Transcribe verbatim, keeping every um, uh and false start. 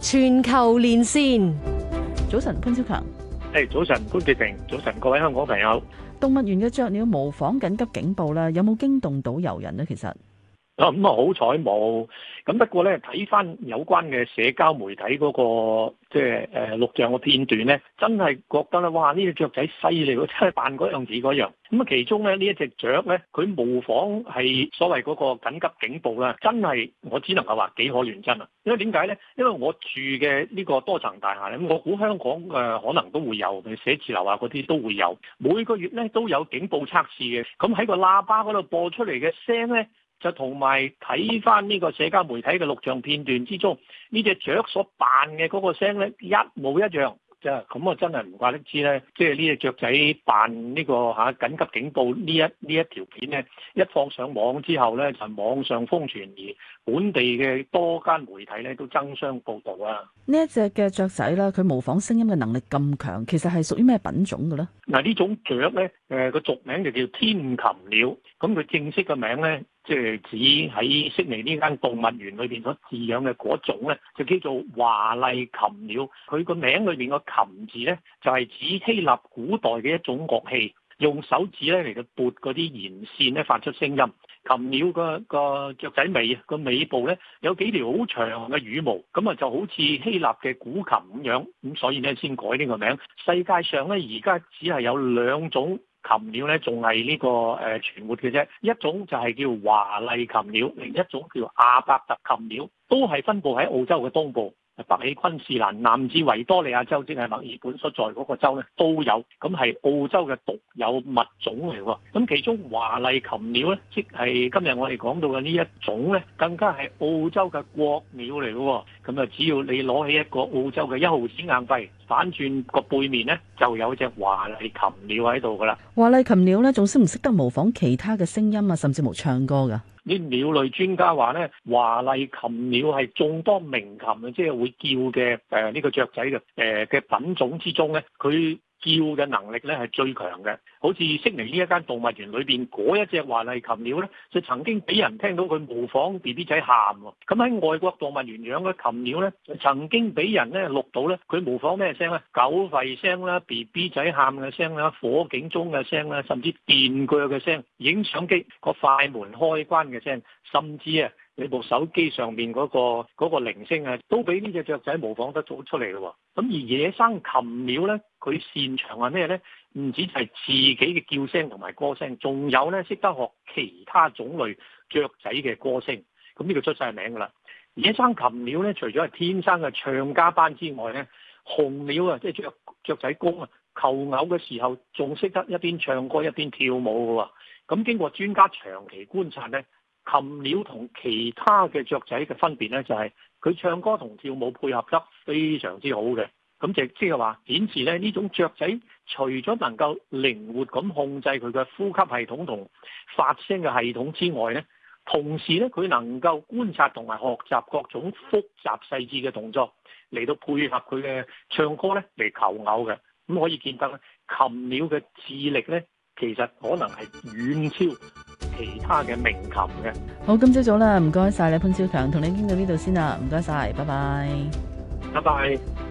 全球連線， 早晨潘超強。 誒，早晨潘潔平，早晨各位香港朋友。 動物園嘅雀鳥模仿緊急警報咧，有冇驚動到遊人呢？其實啊，咁啊好彩冇。咁不過咧，睇翻有關嘅社交媒體嗰、那個即係誒錄像嘅片段咧，真係覺得咧，哇！呢隻雀仔犀利喎，真係扮嗰樣似嗰樣。咁啊，其中咧呢一隻雀咧，佢模仿係所謂嗰個緊急警報啦，真係我只能夠話幾可亂真啊！因為點解咧？因為我住嘅呢個多層大廈咧，我估香港誒、呃、可能都會有，寫字樓啊嗰啲都會有，每個月咧都有警報測試嘅。咁喺個喇叭嗰度播出嚟嘅聲咧，就同埋睇翻呢個社交媒體嘅錄像片段之中，呢隻雀所扮嘅嗰個聲咧一模一樣。就咁啊，真係唔怪得知咧，即係呢隻雀仔扮呢個嚇緊急警報呢一呢一條片咧，一放上網之後咧，就網上瘋傳，而本地嘅多間媒體咧都爭相報導啊！ 呢一隻嘅雀仔啦，佢模仿聲音嘅能力咁強，其實係屬於咩品種嘅咧？ 嗱，呢種雀咧，誒個俗名就叫天琴鳥，咁佢正式嘅名咧，即係指喺悉尼呢間動物園裏邊所飼養嘅嗰種咧，就叫做華麗琴鳥。佢個名裏邊個琴字咧，就係指希臘古代嘅一種樂器，用手指咧嚟到撥嗰啲弦線咧，發出聲音。琴鳥個個雀仔尾個尾部咧有幾條好長嘅羽毛，咁啊就好似希臘嘅古琴咁樣，咁所以咧先改呢個名。世界上咧而家只係有兩種琴鳥咧，仲係呢個誒存活嘅啫。一種就係叫華麗琴鳥，另一種叫阿伯特琴鳥，都係分佈喺澳洲嘅東部。北起昆士蘭，南至維多利亞州，即係墨爾本所在嗰個州咧，都有。咁係澳洲嘅獨有物種嚟喎。咁其中華麗琴鳥咧，即係今日我哋講到嘅呢一種咧，更加係澳洲嘅國鳥嚟嘅。咁啊，只要你攞起一個澳洲嘅一毫子硬幣，反轉個背面咧，就有隻華麗琴鳥喺度噶啦。 華麗琴鳥咧，仲識唔識得模仿其他嘅聲音啊，甚至乎唱歌㗎？ 啲鳥類專家話咧，華麗琴鳥係眾多鳴禽，即係會叫嘅誒呢個雀仔嘅誒嘅品種之中咧，佢叫嘅能力咧係最強嘅。好似悉尼呢一間動物園裏邊嗰一隻華麗琴鳥咧，就曾經俾人聽到佢模仿 B B 仔喊喎。咁喺外國動物園養嘅琴鳥咧，曾經俾人咧錄到咧，佢模仿咩聲咧？狗吠聲啦、B B 仔喊嘅聲啦、火警鐘嘅聲啦，甚至電鋸嘅聲、影相機個快門開關嘅聲，甚至啊你部手機上面嗰個嗰個鈴聲啊，都俾呢隻雀仔模仿得做出嚟嘅喎。咁而野生琴鳥咧，佢擅長係咩咧？唔止係自己嘅叫聲同埋歌聲，仲有咧識得學其他種類雀仔嘅歌聲。咁呢個出晒名㗎啦。野生琴鳥咧，除咗係天生嘅唱家班之外咧，雄鳥啊，即係雀雀仔公啊，求偶嘅時候仲識得一邊唱歌一邊跳舞嘅喎。咁經過專家長期觀察咧，琴鳥同其他嘅雀仔嘅分別咧，就係佢唱歌同跳舞配合得非常之好嘅。咁就即係話顯示咧，呢種雀仔除咗能夠靈活咁控制佢嘅呼吸系統同發聲嘅系統之外咧，同時咧佢能夠觀察同埋學習各種複雜細緻嘅動作嚟到配合佢嘅唱歌咧嚟求偶嘅。咁可以見得咧，琴鳥嘅智力咧，其實可能係遠超其他嘅鳴禽嘅。 好，今朝早啦，唔該晒你潘超強，同你傾到呢度先啦，唔該晒，拜拜。 拜拜。